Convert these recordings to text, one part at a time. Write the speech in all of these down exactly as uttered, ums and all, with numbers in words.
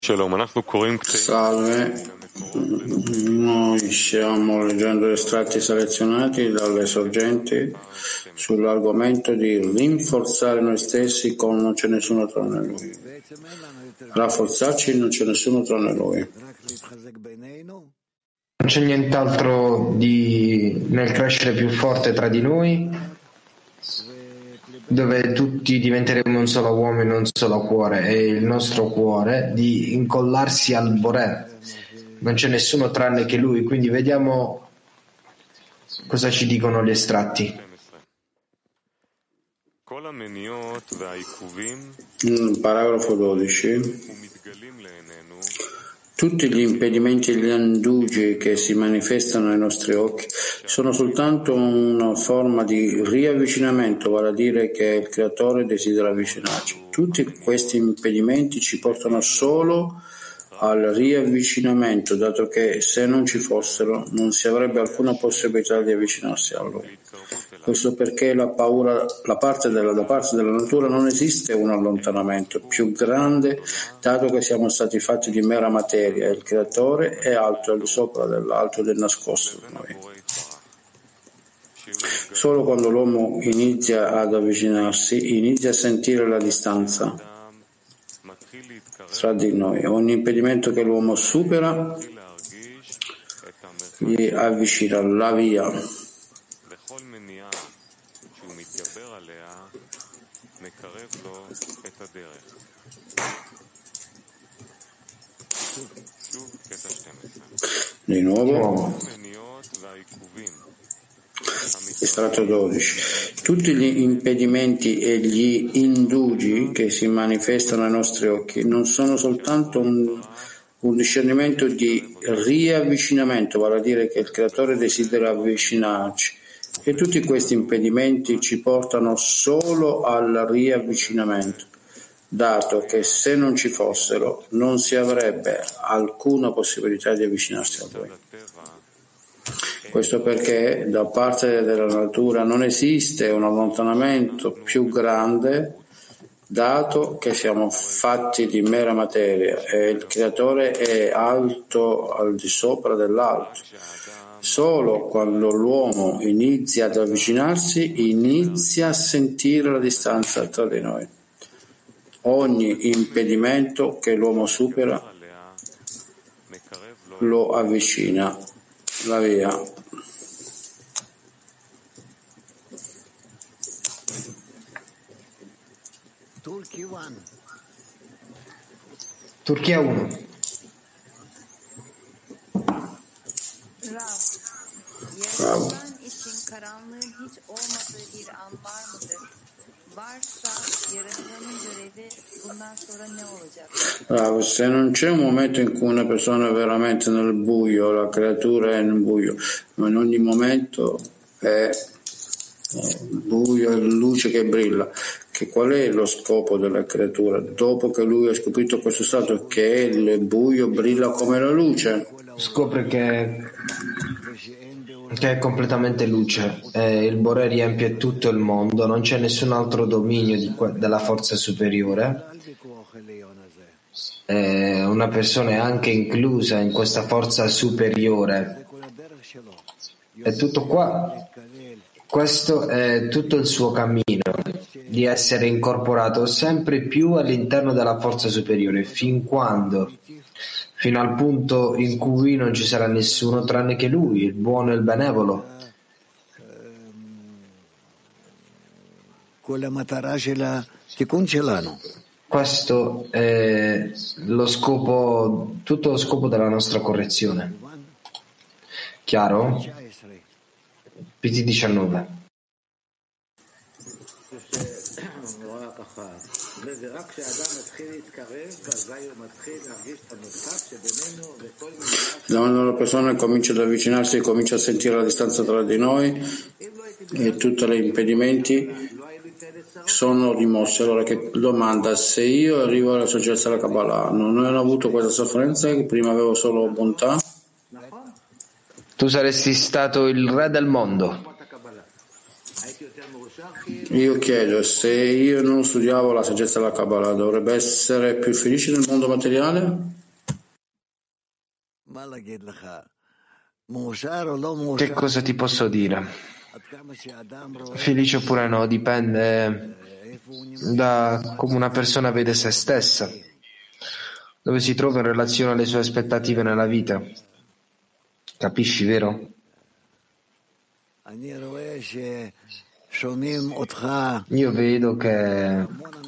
Salve, noi stiamo leggendo estratti selezionati dalle sorgenti sull'argomento di rinforzare noi stessi con non c'è nessuno tranne Lui. Rafforzarci non c'è nessuno tranne Lui. Non c'è nient'altro di nel crescere più forte tra di noi, dove tutti diventeremo un solo uomo e un solo cuore, e il nostro cuore di incollarsi al Boré. Non c'è nessuno tranne che Lui, quindi vediamo cosa ci dicono gli estratti. Paragrafo dodici. Tutti gli impedimenti e gli indugi che si manifestano ai nostri occhi sono soltanto una forma di riavvicinamento, vale a dire che il Creatore desidera avvicinarci. Tutti questi impedimenti ci portano solo al riavvicinamento, dato che se non ci fossero non si avrebbe alcuna possibilità di avvicinarsi a Lui. Questo perché la paura, la parte della, da parte della natura non esiste un allontanamento più grande, dato che siamo stati fatti di mera materia e il Creatore è alto al di sopra dell'alto del nascosto di noi. Solo quando l'uomo inizia ad avvicinarsi, inizia a sentire la distanza tra di noi. Ogni impedimento che l'uomo supera gli avvicina la via. Di nuovo, estratto dodici. Tutti gli impedimenti e gli indugi che si manifestano ai nostri occhi non sono soltanto un, un discernimento di riavvicinamento, vale a dire che il Creatore desidera avvicinarci, e tutti questi impedimenti ci portano solo al riavvicinamento, dato che se non ci fossero non si avrebbe alcuna possibilità di avvicinarsi a Lui. Questo perché da parte della natura non esiste un allontanamento più grande, dato che siamo fatti di mera materia e il Creatore è alto al di sopra dell'alto. Solo quando l'uomo inizia ad avvicinarsi, inizia a sentire la distanza tra di noi. Ogni impedimento che l'uomo supera lo avvicina la via. Turchia uno. Bravo. Bravo. Se non c'è un momento in cui una persona è veramente nel buio, la creatura è nel buio, ma in ogni momento è buio e luce che brilla. Che qual è lo scopo della creatura? Dopo che lui ha scoperto questo stato, che il buio brilla come la luce, scopre che, che è completamente luce, e il Boré riempie tutto il mondo, non c'è nessun altro dominio di que- della forza superiore. E una persona è anche inclusa in questa forza superiore. È tutto qua. Questo è tutto il suo cammino, di essere incorporato sempre più all'interno della forza superiore, fin quando, fino al punto in cui non ci sarà nessuno tranne che Lui, il buono e il benevolo. Questo è lo scopo, tutto lo scopo della nostra correzione. Chiaro? P T diciannove. quando la persona comincia ad avvicinarsi e comincia a sentire la distanza tra di noi e tutti gli impedimenti sono rimossi. Allora che domanda: se io arrivo alla saggezza della Kabbalah, non ho avuto questa sofferenza, che prima avevo solo bontà? Tu saresti stato il re del mondo. Io chiedo, se io non studiavo la saggezza della Kabbalah, dovrebbe essere più felice nel mondo materiale? Che cosa ti posso dire? Felice oppure no, dipende da come una persona vede se stessa, dove si trova in relazione alle sue aspettative nella vita. Capisci, vero? Io vedo che,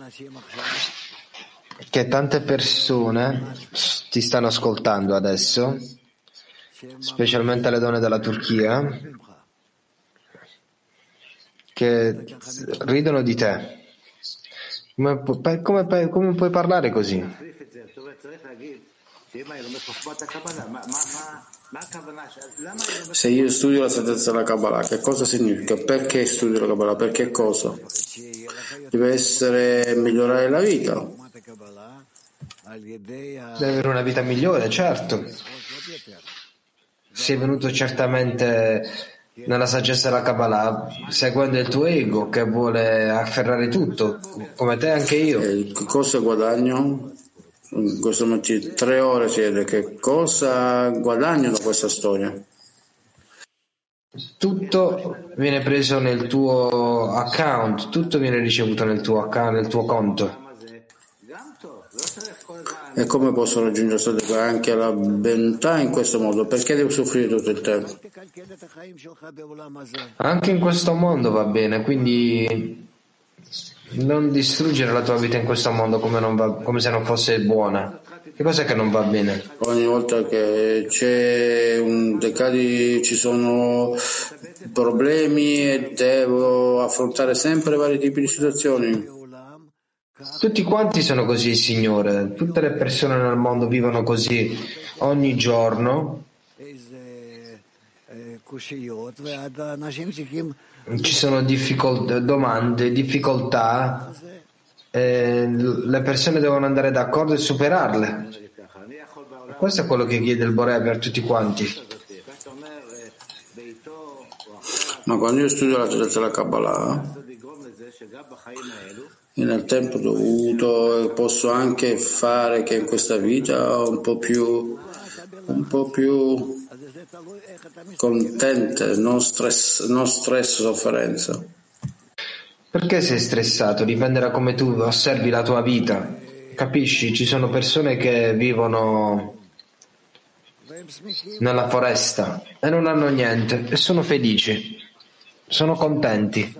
che tante persone ti stanno ascoltando adesso, specialmente le donne della Turchia, che ridono di te. Come, come, come puoi parlare così? Se io studio la saggezza della Kabbalah, che cosa significa? Perché studio la Kabbalah? Perché cosa? Deve essere migliorare la vita. Deve avere una vita migliore, certo. Sei venuto certamente nella saggezza della Kabbalah seguendo il tuo ego che vuole afferrare tutto, come te anche io. E cosa guadagno? In questo momento tre ore siede, che cosa guadagno da questa storia? Tutto viene preso nel tuo account, tutto viene ricevuto nel tuo account, nel tuo conto. E come posso raggiungere anche la bontà in questo modo? Perché devo soffrire tutto il tempo? Anche in questo mondo va bene, quindi non distruggere la tua vita in questo mondo come, non va, come se non fosse buona. Che cos'è che non va bene? Ogni volta che c'è un decadi, ci sono problemi e devo affrontare sempre vari tipi di situazioni. Tutti quanti sono così, Signore. Tutte le persone nel mondo vivono così ogni giorno. Ci sono difficol- domande, difficoltà. Eh, le persone devono andare d'accordo e superarle. Questo è quello che chiede il Borea per tutti quanti. Ma quando io studio la saggezza della Kabbalah, nel tempo dovuto, posso anche fare che in questa vita un po' più un po' più contente, non stress, non stress, sofferenza. Perché sei stressato? Dipende da come tu osservi la tua vita. Capisci? Ci sono persone che vivono nella foresta e non hanno niente e sono felici, sono contenti.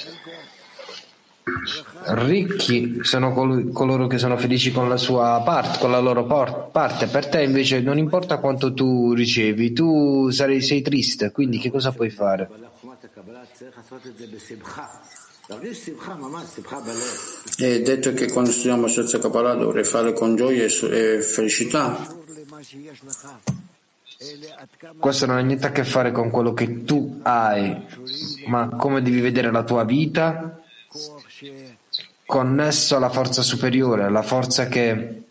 Ricchi sono col- coloro che sono felici con la sua parte, con la loro por- parte. Per te invece non importa quanto tu ricevi, tu sarai, sei triste, quindi che cosa puoi fare? È detto che quando studiamo la saggezza Kabbalah dovrei fare con gioia e felicità. Questo non ha niente a che fare con quello che tu hai, ma come devi vedere la tua vita connesso alla forza superiore, alla forza che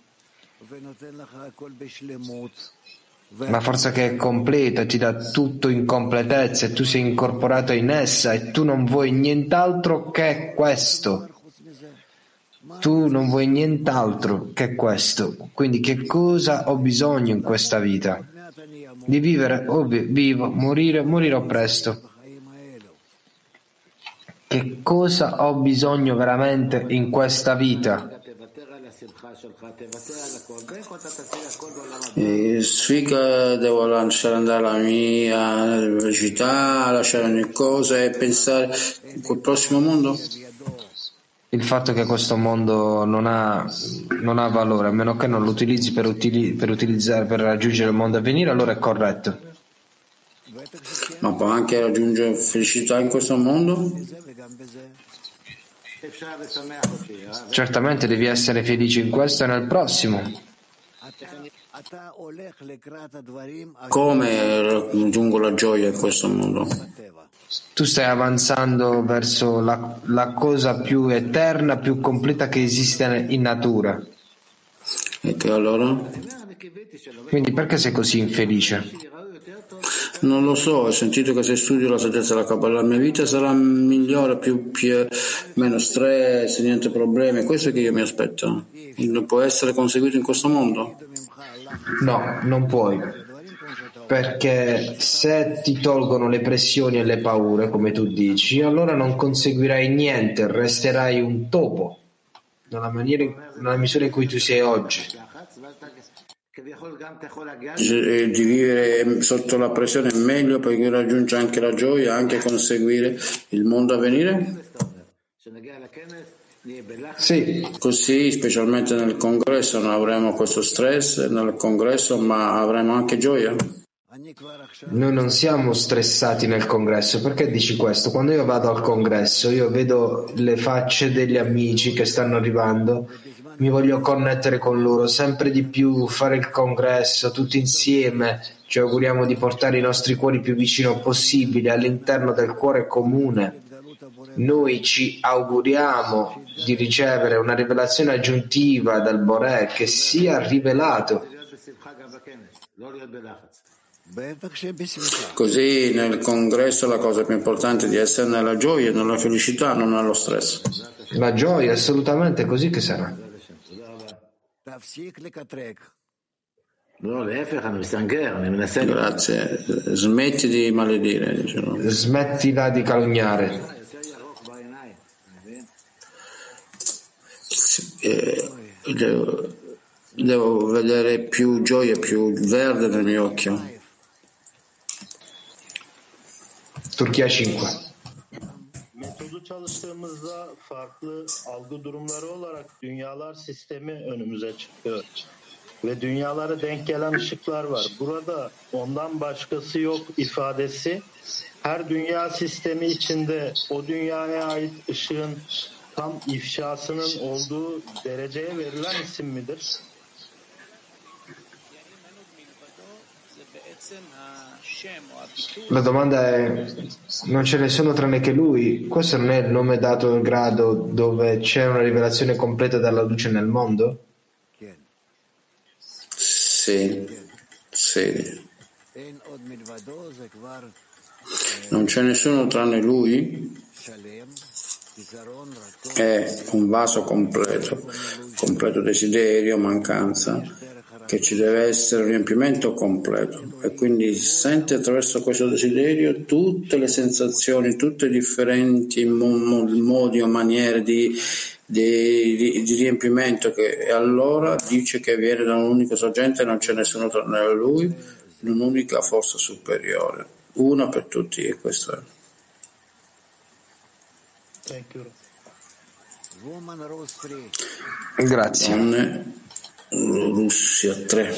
la forza che è completa, ti dà tutto in completezza e tu sei incorporato in essa e tu non vuoi nient'altro che questo. Tu non vuoi nient'altro che questo. Quindi che cosa ho bisogno in questa vita? Di vivere o vivo, morire, morirò presto. Che cosa ho bisogno veramente in questa vita? E sfiga, devo lasciare andare la mia velocità, lasciare ogni cosa e pensare col prossimo mondo? Il fatto che questo mondo non ha, non ha valore, a meno che non lo utilizzi per, utili, per utilizzare per raggiungere il mondo a venire, allora è corretto. Ma può anche raggiungere felicità in questo mondo? Certamente devi essere felice in questo e nel prossimo. Come raggiungo la gioia in questo mondo? Tu stai avanzando verso la, la cosa più eterna, più completa che esiste in natura. E che allora? Quindi perché sei così infelice? Non lo so, ho sentito che se studio la saggezza della Kabbalah la mia vita sarà migliore, più, più meno stress, niente problemi. Questo è che io mi aspetto. Non può essere conseguito in questo mondo? No, non puoi, perché se ti tolgono le pressioni e le paure, come tu dici, allora non conseguirai niente, resterai un topo, nella, maniera, nella misura in cui tu sei oggi. Di vivere sotto la pressione è meglio perché raggiunge anche la gioia, anche conseguire il mondo a venire? Sì. Così, specialmente nel congresso, non avremo questo stress nel congresso, ma avremo anche gioia. Noi non siamo stressati nel congresso. Perché dici questo? Quando io vado al congresso, io vedo le facce degli amici che stanno arrivando, mi voglio connettere con loro sempre di più, fare il congresso tutti insieme, ci auguriamo di portare i nostri cuori più vicino possibile all'interno del cuore comune. Noi ci auguriamo di ricevere una rivelazione aggiuntiva dal Boré che sia rivelato. Così nel congresso la cosa più importante è di essere nella gioia, nella felicità, non nello stress. La gioia, assolutamente, così che sarà. Grazie. Smetti di maledire. Diciamo. Smettila di calunniare. Eh, devo, devo vedere più gioia, più verde nel mio occhio. Turchia cinque. Metodu çalıştığımızda farklı algı durumları olarak dünyalar sistemi önümüze çıkıyor. Ve dünyalara denk gelen ışıklar var. Burada ondan başkası yok ifadesi her dünya sistemi içinde o dünyaya ait ışığın tam ifşasının olduğu dereceye verilen isim midir? La domanda è: non ce ne sono tranne che lui? Questo non è il nome dato al grado dove c'è una rivelazione completa della luce nel mondo? Sì, sì. Non c'è nessuno tranne lui? È un vaso completo, completo desiderio, mancanza, che ci deve essere un riempimento completo e quindi sente attraverso questo desiderio tutte le sensazioni, tutte le differenti modi o maniere di, di, di, di riempimento che, e allora dice che viene da un unico sorgente e non c'è nessuno tranne lui, in un'unica forza superiore, una per tutti, e questo è. Grazie. Donne, Russia tre.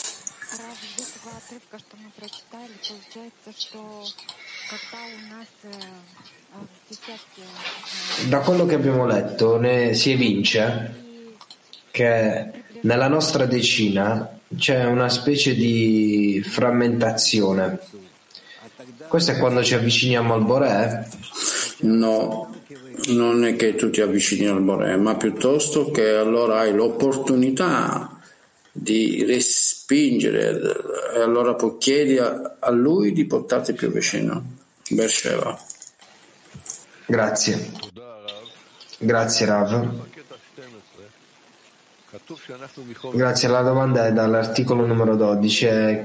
Da quello che abbiamo letto ne si evince che nella nostra decina c'è una specie di frammentazione. Questo è quando ci avviciniamo al Boré? No, non è che tu ti avvicini al Boré, ma piuttosto che allora hai l'opportunità di respingere e allora poi chiedi a, a lui di portarti più vicino. Beersheba. Grazie. Grazie Rav. Grazie, la domanda è dall'articolo numero dodici.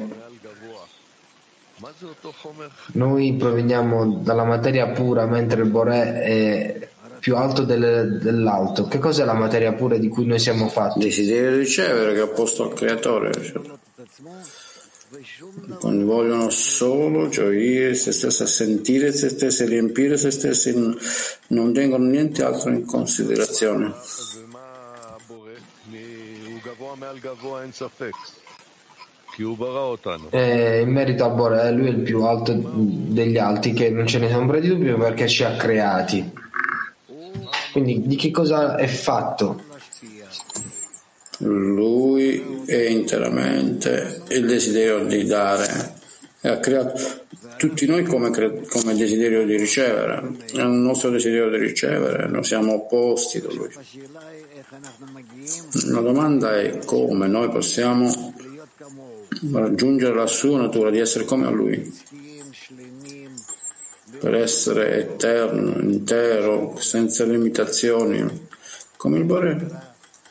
Noi proveniamo dalla materia pura mentre il Boré è più alto del, dell'alto. Che cos'è la materia pura di cui noi siamo fatti? Desiderio di ricevere che è opposto al creatore. Quando vogliono solo gioire se stessi, sentire se stessi, riempire se stessi, non tengono niente altro in considerazione. E in merito a Boré, lui è il più alto degli alti, che non ce ne sono ombra di dubbio perché ci ha creati. Quindi di che cosa è fatto? Lui è interamente il desiderio di dare e ha creato tutti noi come, come desiderio di ricevere. È un nostro desiderio di ricevere, noi siamo opposti da lui. La domanda è come noi possiamo raggiungere la sua natura di essere come a lui. per essere eterno, intero, senza limitazioni, come il Bore.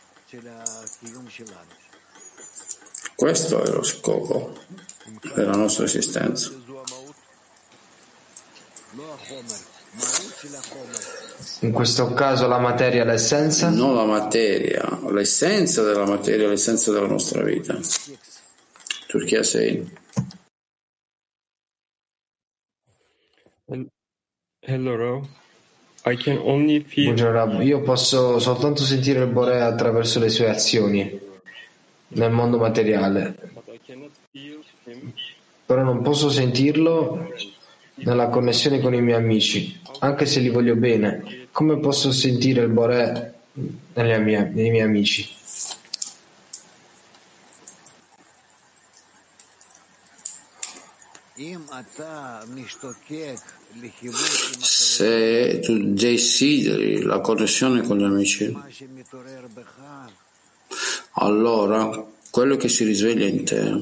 Questo è lo scopo della nostra esistenza. In questo caso la materia è l'essenza? Non la materia, l'essenza della materia, l'essenza della nostra vita. Turchia sei. Hello, Rav. I can only feel... Buongiorno Rav, io posso soltanto sentire il Bore attraverso le sue azioni nel mondo materiale, però non posso sentirlo nella connessione con i miei amici, anche se li voglio bene. Come posso sentire il Bore nelle mie, nei miei amici? Se tu desideri la connessione con gli amici, allora quello che si risveglia in te,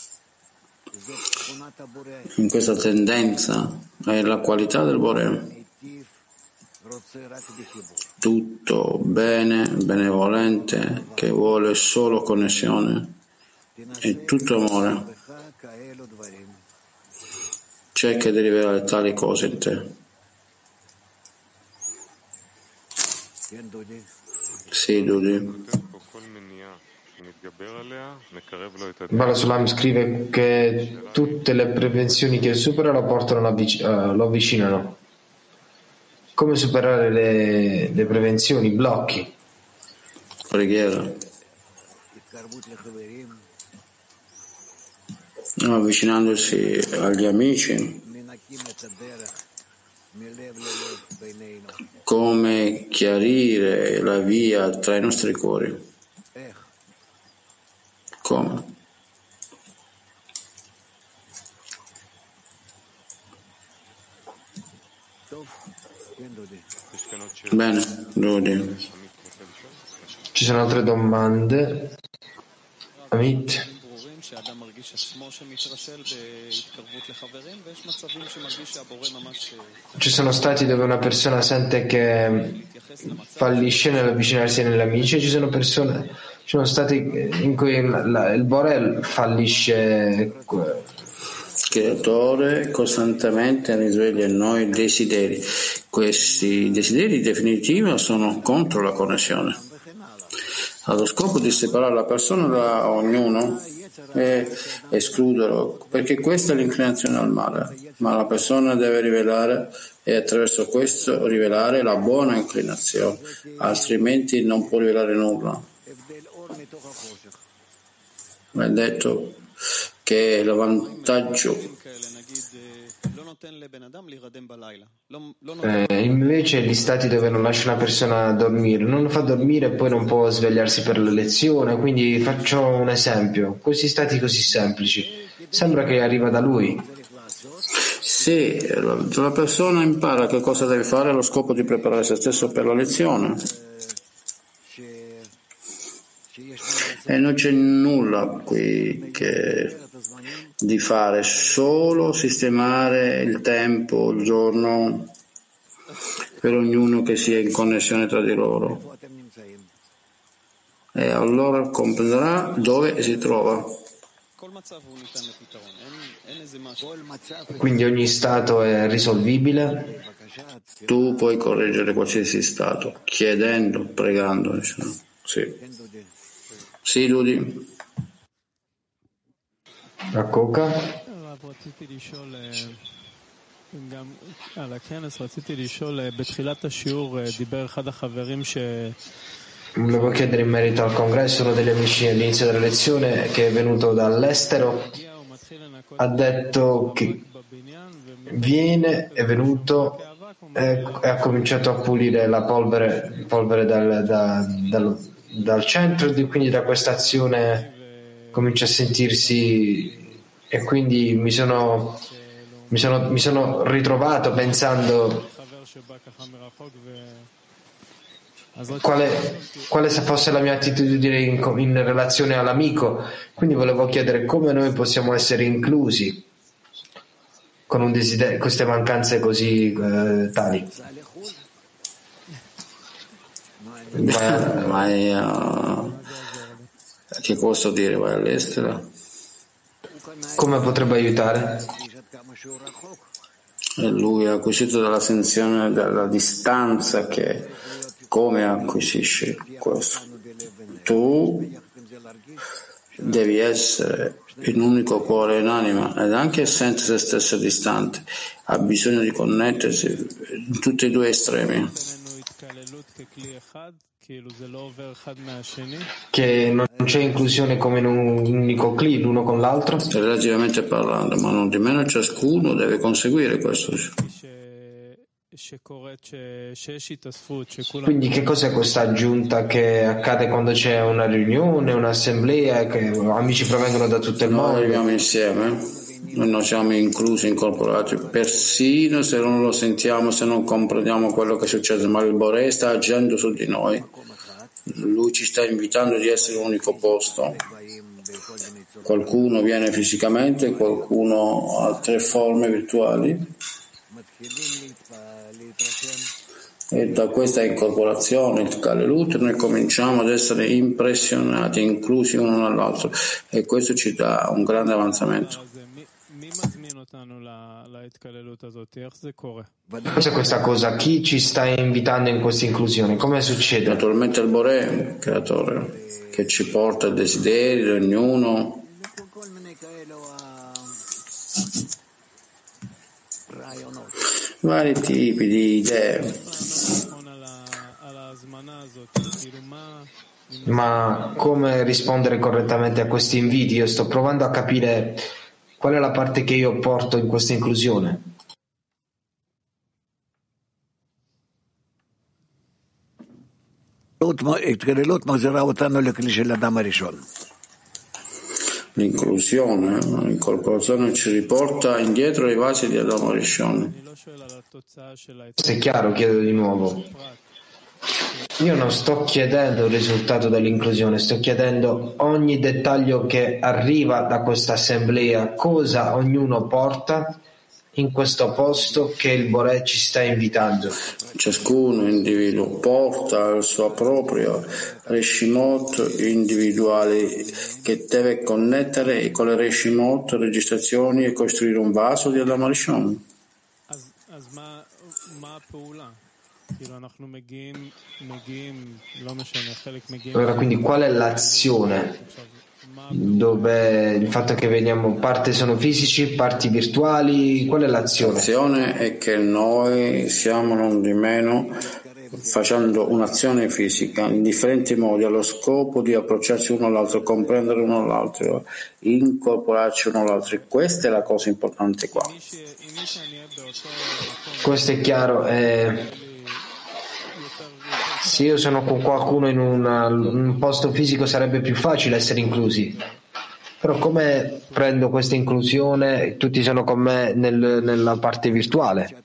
in questa tendenza, è la qualità del Bore. Tutto bene, benevolente, che vuole solo connessione, è tutto amore. Cerca di rivelare tali cose in te. Sì, Dudi. Bala Sulam scrive che tutte le prevenzioni che supera lo portano avvic- uh, lo avvicinano. Come superare le, le prevenzioni, i blocchi? Preghiera. Avvicinandosi agli amici, come chiarire la via tra i nostri cuori. Come? Bene, Dodi. Ci sono altre domande? Amit? Ci sono stati dove una persona sente che fallisce nell'avvicinarsi agli amici, e ci sono persone, ci sono stati in cui la, il Bore fallisce. Creatore costantemente risveglia in noi desideri. Questi desideri in definitiva sono contro la connessione. Allo scopo di separare la persona da ognuno e escluderlo, perché questa è l'inclinazione al male, ma la persona deve rivelare e attraverso questo rivelare la buona inclinazione, altrimenti non può rivelare nulla. Ma è detto che il vantaggio Eh, invece gli stati dove non lascia una persona dormire, non lo fa dormire e poi non può svegliarsi per la lezione, quindi faccio un esempio, questi stati così semplici, sembra che arriva da lui. Sì, la persona impara che cosa deve fare allo scopo di preparare se stesso per la lezione. E non c'è nulla qui che di fare, solo sistemare il tempo, il giorno per ognuno che sia in connessione tra di loro, e allora comprenderà dove si trova. Quindi ogni stato è risolvibile? Tu puoi correggere qualsiasi stato chiedendo, pregando, diciamo. Sì, sì, Dudi. A Coca? Volevo chiedere in merito al congresso, uno degli amici all'inizio della lezione che è venuto dall'estero ha detto che viene, è venuto e ha cominciato a pulire la polvere, polvere dal, da, dal, dal centro, e quindi da questa azione comincia a sentirsi, e quindi mi sono, mi sono, mi sono ritrovato pensando quale, quale fosse la mia attitudine in, in relazione all'amico, quindi volevo chiedere come noi possiamo essere inclusi, con un desiderio, queste mancanze così eh, tali. Vai, vai a... Che posso dire? Vai all'estero? Come potrebbe aiutare? E lui ha acquisito dalla sensazione della distanza che come acquisisci questo? Tu devi essere in unico cuore in anima ed anche sente se stesso distante, ha bisogno di connettersi in tutti e due estremi. Che non c'è inclusione come in un unico cli l'uno con l'altro? Relativamente parlando, ma non di meno ciascuno deve conseguire questo. Quindi che cos'è questa aggiunta che accade quando c'è una riunione, un'assemblea, che amici provengono da tutto il mondo? Noi arriviamo insieme, noi non siamo inclusi, incorporati, persino se non lo sentiamo, se non comprendiamo quello che succede, ma il Boré sta agendo su di noi. Lui ci sta invitando di essere un unico posto. Qualcuno viene fisicamente, qualcuno ha tre forme virtuali. E da questa incorporazione, il Kalelut, noi cominciamo ad essere impressionati, inclusi uno nell'altro, e questo ci dà un grande avanzamento. Cos'è questa cosa? Chi ci sta invitando in questa inclusione? Come succede? Naturalmente il Boré, creatore, che ci porta il desiderio di ognuno. Vari tipi di idee. Ma come rispondere correttamente a questi inviti? Io sto provando a capire qual è la parte che io porto in questa inclusione. L'inclusione, l'incorporazione ci riporta indietro ai vasi di Adamo Rishon. Se è chiaro, chiedo di nuovo. Io non sto chiedendo il risultato dell'inclusione, sto chiedendo ogni dettaglio che arriva da questa assemblea, cosa ognuno porta in questo posto che il Boré ci sta invitando. Ciascuno individuo porta il suo proprio Reshimot individuale che deve connettere con le Reshimot, registrazioni e costruire un vaso di Adamo Rishon. Allora, quindi qual è l'azione? Dove il fatto che veniamo, parte sono fisici, parti virtuali, qual è l'azione? L'azione è che noi siamo non di meno facendo un'azione fisica in differenti modi allo scopo di approcciarci uno all'altro, comprendere uno all'altro, incorporarci uno all'altro. E questa è la cosa importante qua. Questo è chiaro. Eh... Se io sono con qualcuno in una, un posto fisico sarebbe più facile essere inclusi, però come prendo questa inclusione? Tutti sono con me nel, nella parte virtuale.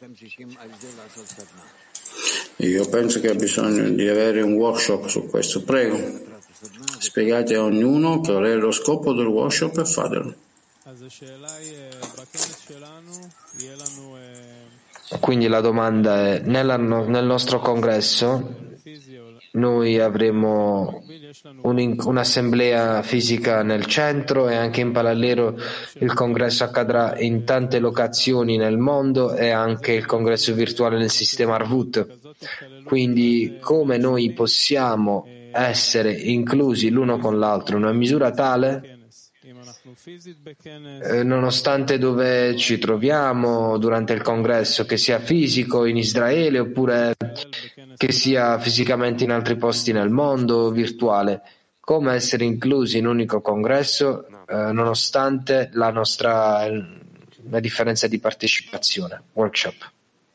Io penso che ha bisogno di avere un workshop su questo. Prego, spiegate a ognuno qual è lo scopo del workshop e fatelo. Quindi la domanda è, nella, nel nostro congresso noi avremo un, un'assemblea fisica nel centro e anche in parallelo il congresso accadrà in tante locazioni nel mondo e anche il congresso virtuale nel sistema Arvut. Quindi come noi possiamo essere inclusi l'uno con l'altro in una misura tale eh, nonostante dove ci troviamo durante il congresso, che sia fisico in Israele oppure che sia fisicamente in altri posti nel mondo, virtuale, come essere inclusi in un unico congresso eh, nonostante la nostra la differenza di partecipazione. Workshop.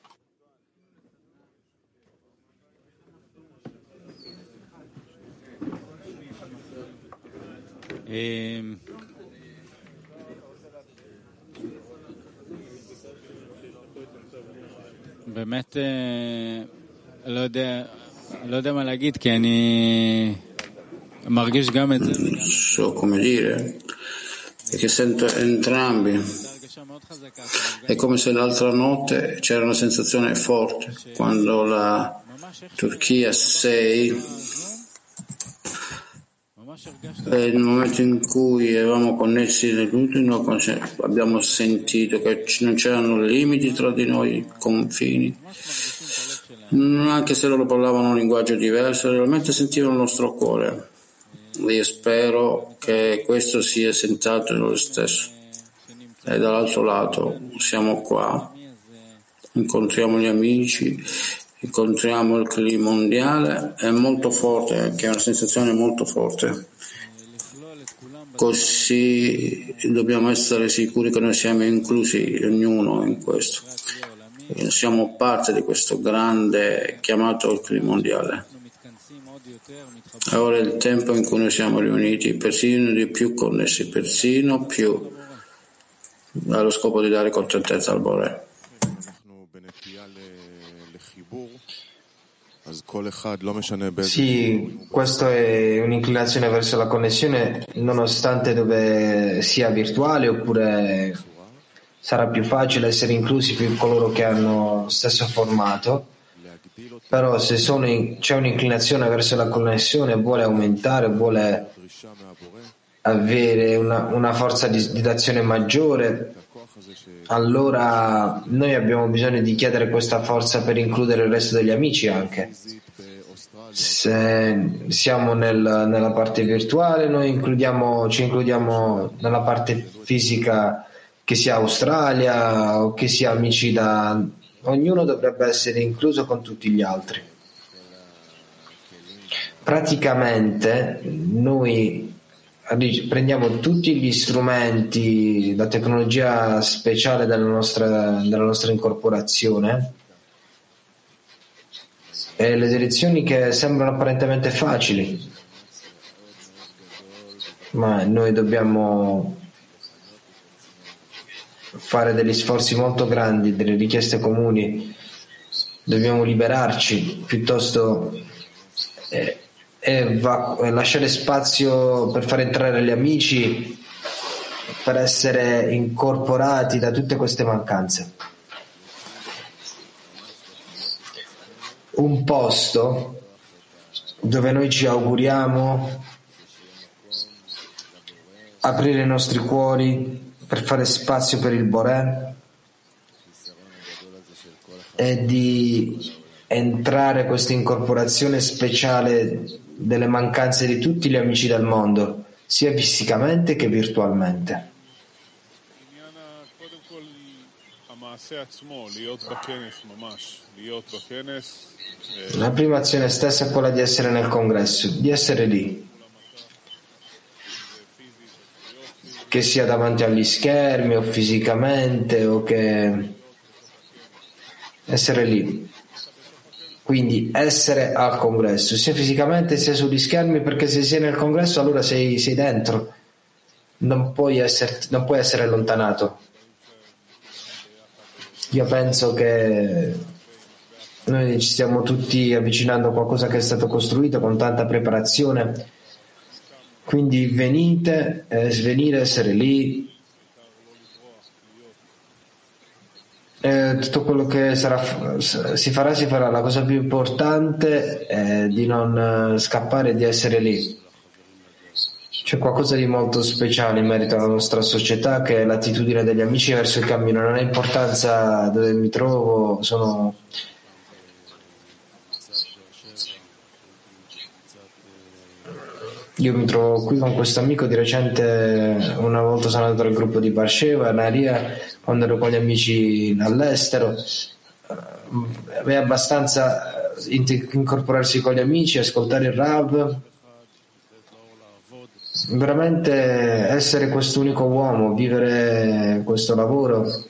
E... באמת לא יודע, לא יודע מה להגיד, כי אני מרגיש גם את זה. So come dire, perché sento entrambi. È come se l'altra notte c'era una sensazione forte quando la Turchia sei, nel momento in cui eravamo connessi nell'ultimo, abbiamo sentito che non c'erano limiti tra di noi, confini. Anche se loro parlavano un linguaggio diverso, realmente sentivano il nostro cuore. Io spero che questo sia sentato lo stesso. E dall'altro lato siamo qua, incontriamo gli amici, incontriamo il clima mondiale, è molto forte, che è una sensazione molto forte. Così dobbiamo essere sicuri che noi siamo inclusi, ognuno in questo. Siamo parte di questo grande chiamato il clima mondiale. E ora è il tempo in cui noi siamo riuniti, persino di più connessi, persino più, allo scopo di dare contentezza al Bore. Sì, questa è un'inclinazione verso la connessione, nonostante dove sia virtuale oppure sarà più facile essere inclusi più coloro che hanno lo stesso formato. Però se sono in, c'è un'inclinazione verso la connessione, vuole aumentare, vuole avere una, una forza di, di d'azione maggiore, allora noi abbiamo bisogno di chiedere questa forza per includere il resto degli amici anche. Se siamo nel, nella parte virtuale, noi includiamo, ci includiamo nella parte fisica, che sia Australia o che sia amici da... Ognuno dovrebbe essere incluso con tutti gli altri. Praticamente noi prendiamo tutti gli strumenti, la tecnologia speciale della nostra, della nostra incorporazione e le direzioni che sembrano apparentemente facili, ma noi dobbiamo fare degli sforzi molto grandi, delle richieste comuni, dobbiamo liberarci piuttosto eh, e va, lasciare spazio per far entrare gli amici, per essere incorporati da tutte queste mancanze. Un posto dove noi ci auguriamo aprire i nostri cuori per fare spazio per il Boré e di entrare questa incorporazione speciale delle mancanze di tutti gli amici del mondo, sia fisicamente che virtualmente. La prima azione stessa è quella di essere nel congresso, di essere lì, che sia davanti agli schermi o fisicamente o che essere lì. Quindi essere al congresso, sia fisicamente sia sugli schermi, perché se sei nel congresso allora sei, sei dentro, non puoi, essere, non puoi essere allontanato. Io penso che noi ci stiamo tutti avvicinando a qualcosa che è stato costruito con tanta preparazione, quindi venite, eh, svenire, essere lì. Eh, tutto quello che sarà, si farà, si farà. La cosa più importante è di non scappare, di essere lì. C'è qualcosa di molto speciale in merito alla nostra società, che è l'attitudine degli amici verso il cammino. Non ha importanza dove mi trovo, sono... Io mi trovo qui con questo amico di recente, una volta sono andato al gruppo di Barsheva, Naria, quando ero con gli amici all'estero. È abbastanza incorporarsi con gli amici, ascoltare il Rav, veramente essere quest'unico uomo, vivere questo lavoro,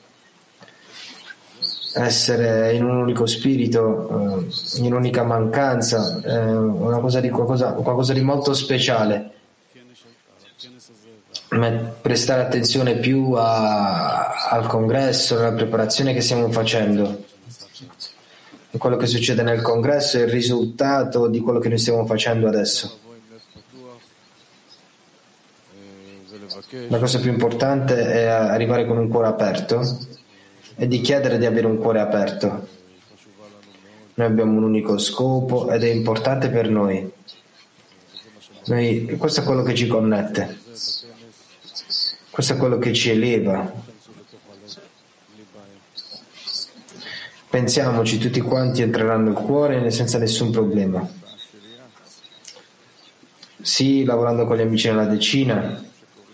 essere in un unico spirito, in un'unica mancanza, è una cosa di qualcosa, qualcosa di molto speciale. Prestare attenzione più a, al congresso, alla preparazione che stiamo facendo. Quello che succede nel congresso è il risultato di quello che noi stiamo facendo adesso. La cosa più importante è arrivare con un cuore aperto e di chiedere di avere un cuore aperto. Noi abbiamo un unico scopo ed è importante per noi. Noi questo è quello che ci connette, questo è quello che ci eleva. Pensiamoci, tutti quanti entreranno nel cuore senza nessun problema. Sì, lavorando con gli amici nella decina,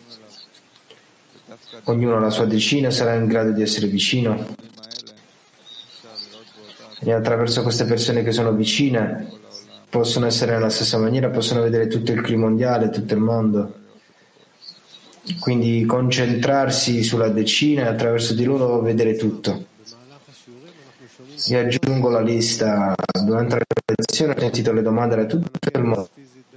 ognuno alla sua decina sarà in grado di essere vicino. E attraverso queste persone che sono vicine possono essere nella stessa maniera, possono vedere tutto il clima mondiale, tutto il mondo. Quindi concentrarsi sulla decina e attraverso di loro vedere tutto. Vi aggiungo la lista. Durante la lezione ho sentito le domande da tutto il mondo.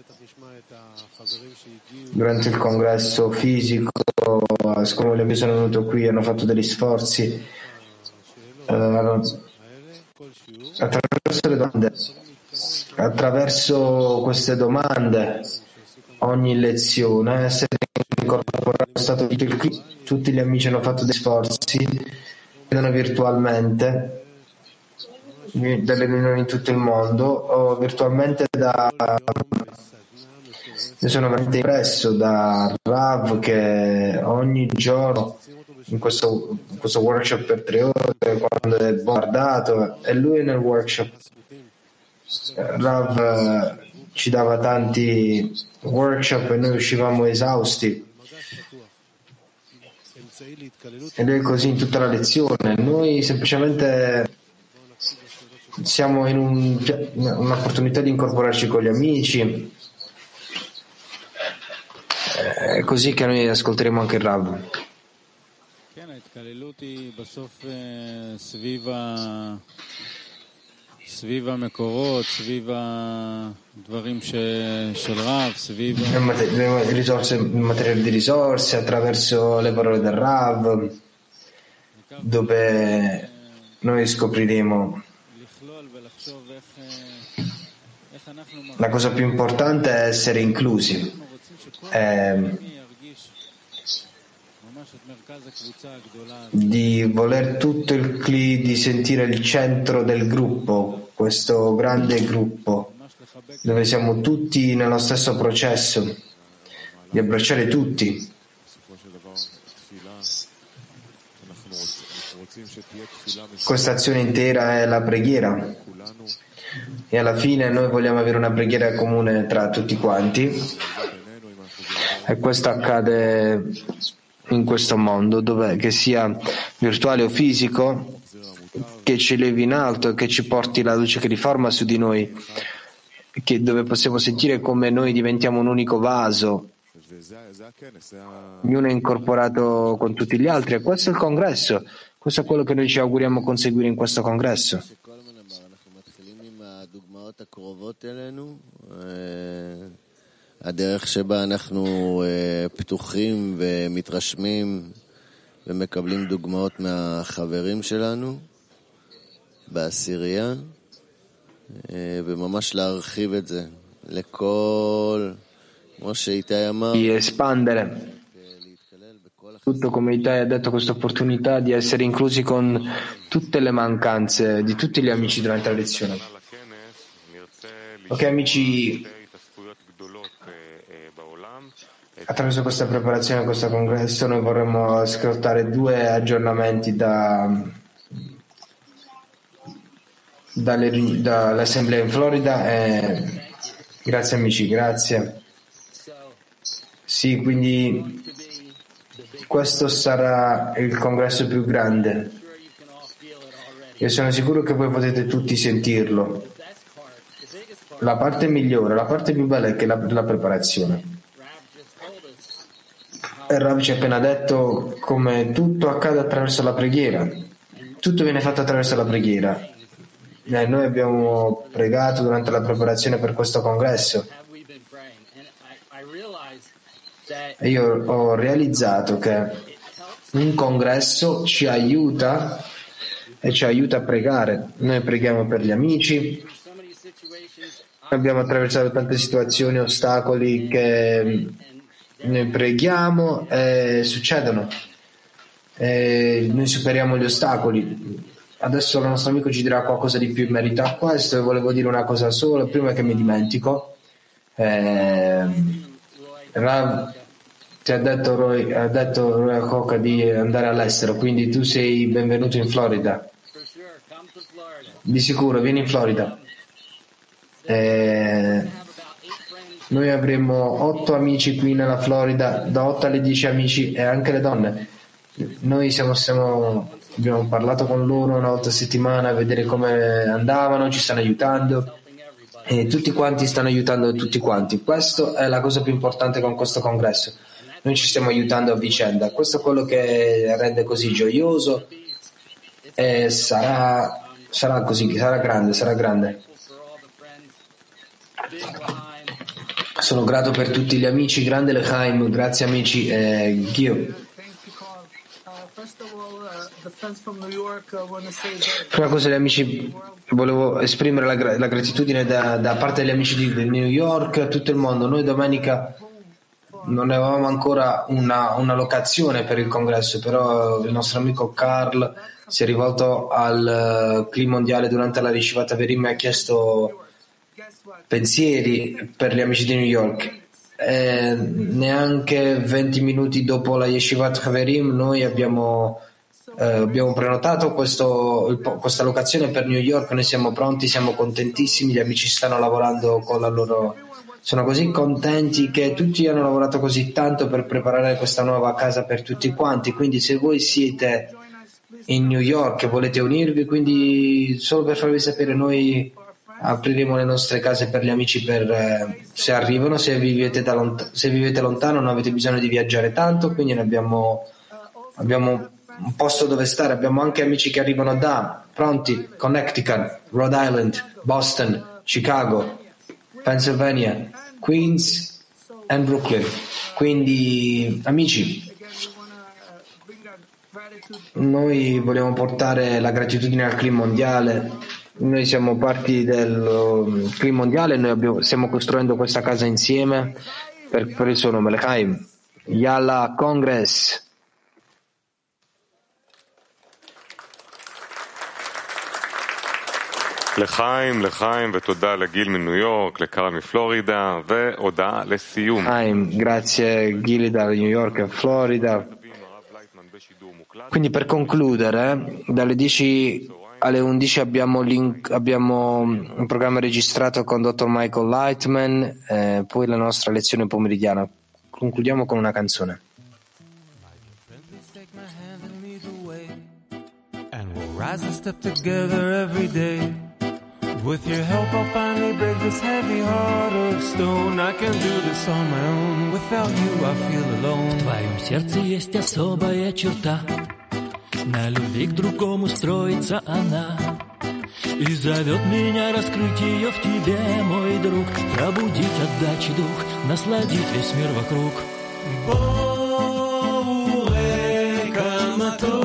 Durante il congresso fisico, siccome gli amici sono venuti qui, hanno fatto degli sforzi. Uh, attraverso le domande, attraverso queste domande, ogni lezione, essere incorporato stato tutto il, tutti gli amici hanno fatto degli sforzi, vedono virtualmente delle riunioni in tutto il mondo o virtualmente da io sono veramente impresso da Rav che ogni giorno in questo, in questo workshop per tre ore quando è bombardato e lui nel workshop Rav eh, ci dava tanti workshop e noi uscivamo esausti ed è così in tutta la lezione. Noi semplicemente siamo in un, un'opportunità di incorporarci con gli amici. È così che noi ascolteremo anche il Rav. Le risorse, il materiale di risorse attraverso le parole del Rav, dove noi scopriremo la cosa più importante è essere inclusi. Eh, di voler tutto il cli, di sentire il centro del gruppo, questo grande gruppo dove siamo tutti nello stesso processo, di abbracciare tutti. Questa azione intera è la preghiera e alla fine noi vogliamo avere una preghiera comune tra tutti quanti. E questo accade in questo mondo, dove, che sia virtuale o fisico, che ci elevi in alto e che ci porti la luce che riforma su di noi, che, dove possiamo sentire come noi diventiamo un unico vaso, ognuno è incorporato con tutti gli altri. E questo è il congresso, questo è quello che noi ci auguriamo conseguire in questo congresso. הדרך שבה אנחנו פתוחים ומתרשמים ומקבלים דוגמאות מהחברים שלנו בעשירייה וממש להרחיב את זה לכל, כמו שאיתי אמר, di espandere tutto, come Itai ha detto, questa opportunità di essere inclusi con tutte le mancanze di tutti gli amici durante la lezione. Ok amici, attraverso questa preparazione a questo congresso noi vorremmo ascoltare due aggiornamenti da, dalle, dall'assemblea in Florida. E, grazie amici, grazie. Sì, quindi questo sarà il congresso più grande. Io sono sicuro che voi potete tutti sentirlo. La parte migliore, la parte più bella è che la, la preparazione. Il Rav ci ha appena detto come tutto accade attraverso la preghiera, tutto viene fatto attraverso la preghiera. Eh, noi abbiamo pregato durante la preparazione per questo congresso e io ho realizzato che un congresso ci aiuta e ci aiuta a pregare. Noi preghiamo per gli amici, abbiamo attraversato tante situazioni, ostacoli che noi preghiamo e succedono. E noi superiamo gli ostacoli. Adesso il nostro amico ci dirà qualcosa di più in merito a questo, e volevo dire una cosa sola prima che mi dimentico. Eh, Rav ti ha detto Roy, ha detto Roy Akoka di andare all'estero, quindi tu sei benvenuto in Florida. Di sicuro, vieni in Florida. Eh, noi avremo otto amici qui nella Florida, da otto alle dieci amici, e anche le donne. Noi siamo, siamo, abbiamo parlato con loro una volta a settimana a vedere come andavano, ci stanno aiutando e tutti quanti stanno aiutando tutti quanti. Questa è la cosa più importante con questo congresso. Noi ci stiamo aiutando a vicenda. Questo è quello che rende così gioioso, e sarà, sarà così, sarà grande, sarà grande. Sono grato per tutti gli amici, grande Lechaim, grazie amici. eh, Ghio. Prima cosa, gli amici, volevo esprimere la, gra- la gratitudine da, da parte degli amici di, di New York a tutto il mondo. Noi domenica non avevamo ancora una, una locazione per il congresso, però il nostro amico Carl si è rivolto al uh, Clima Mondiale durante la Yeshivat Haverim e ha chiesto pensieri per gli amici di New York. E neanche venti minuti dopo la Yeshivat Haverim noi abbiamo eh, abbiamo prenotato questo, il, questa locazione per New York. Noi siamo pronti, siamo contentissimi, gli amici stanno lavorando con la loro, sono così contenti che tutti hanno lavorato così tanto per preparare questa nuova casa per tutti quanti. Quindi se voi siete in New York e volete unirvi, quindi solo per farvi sapere, noi apriremo le nostre case per gli amici per, eh, se arrivano. Se vivete, da lont- se vivete lontano non avete bisogno di viaggiare tanto, quindi ne abbiamo, abbiamo un posto dove stare. Abbiamo anche amici che arrivano da pronti Connecticut, Rhode Island, Boston, Chicago, Pennsylvania, Queens e Brooklyn. Quindi amici, noi vogliamo portare la gratitudine al Clima Mondiale. Noi siamo parti del Clima Mondiale, noi abbiamo, stiamo costruendo questa casa insieme per, per il suo nome, Lechaim. Yalla Congress. לחיים, לחיים, ותודה לגיל מניו יורק, לקרה מפלורידה, והודעה לסיום. לחיים, grazie Gil da New York e Florida. Quindi per concludere, dalle dieci alle undici abbiamo, link, abbiamo un programma registrato con dottor Michael Lightman, eh, poi la nostra lezione pomeridiana. Concludiamo con una canzone. And we'll rise and step together every day. With your help I'll finally break this heavy heart of stone. I can do this on my own. Without you I feel alone. В твоем сердце есть особая черта. На любви к другому строится она. И зовет меня раскрыть ее в тебе, мой друг. Пробудить отдачи дух, насладить весь мир вокруг. Боуэ камато.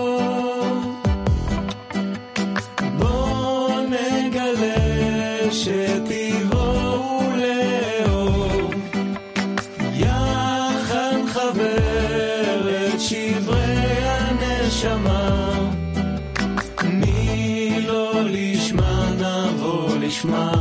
שתבואו לאור יחד חבר את שברי הנשמה מי לא לשמה נבוא לשמה